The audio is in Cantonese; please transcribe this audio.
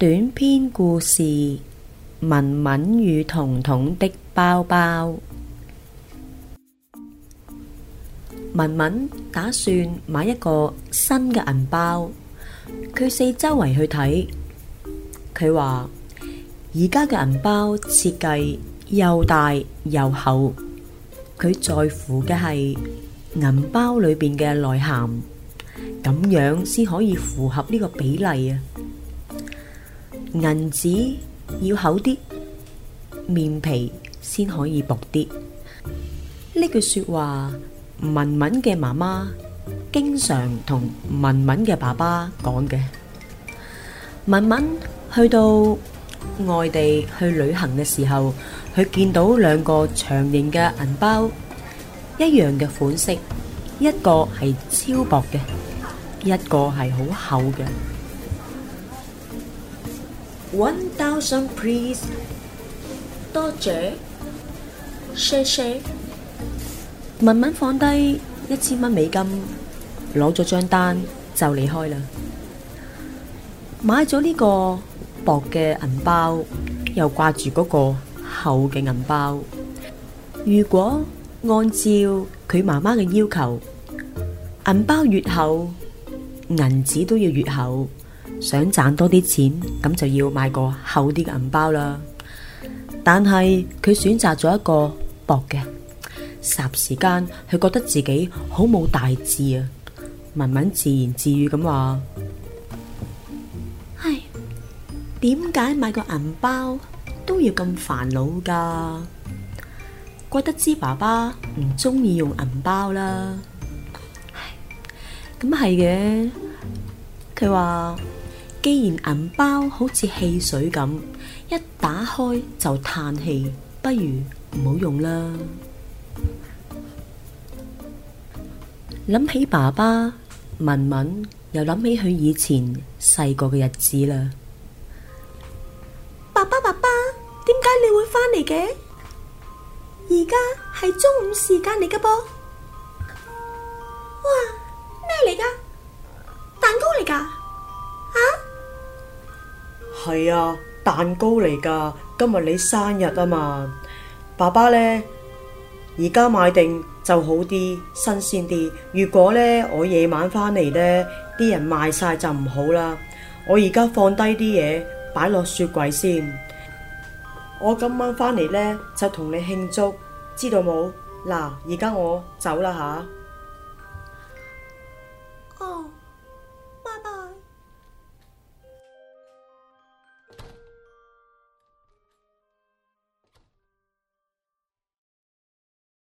短篇故事：文文與彤彤的包包。文文打算買一個新嘅銀包，佢四周圍去睇。佢話而家嘅銀包設計又大又厚，佢在乎嘅係銀包裏邊嘅內涵，咁樣先可以符合呢個比例啊！銀紙要厚啲，面皮先可以薄啲。呢句說話，文文嘅媽媽經常同文文嘅爸爸講嘅。文文去到外地去旅行嘅時候，佢見到兩個長形嘅銀包，一樣嘅款式，一個係超薄嘅，一個係好厚嘅。1000 please， 多謝，謝謝。文文放低1000蚊美金，攞咗張單就離開啦。買咗呢個薄嘅銀包，又掛住嗰個厚嘅銀包。如果按照佢媽媽嘅要求，銀包越厚，銀紙都要越厚。想賺多啲錢，咁就要買個厚啲嘅銀包啦。但係佢選擇咗一個薄嘅，霎時間佢覺得自己好冇大志啊。文文自言自語咁話：唉，點解買個銀包都要咁煩惱噶？怪得知爸爸唔中意用銀包啦。咁係嘅，佢話既然銀包好似汽水咁，一打開就嘆氣，不如唔好用啦。諗起爸爸，文文又諗起佢以前細個嘅日子啦。爸爸，點解你會返嚟嘅？而家係中午時間嚟㗎噃。哇，咩嚟㗎？蛋糕嚟㗎？ 係啊，蛋糕嚟噶，今日你生日啊嘛。爸爸呢，而家買定就好啲，新鮮啲。如果呢，我夜晚返嚟呢，啲人賣晒就唔好啦。我而家放低啲嘢，擺落雪櫃先。我今晚返嚟呢，就同你慶祝，知道冇？嗱，而家我走啦吓。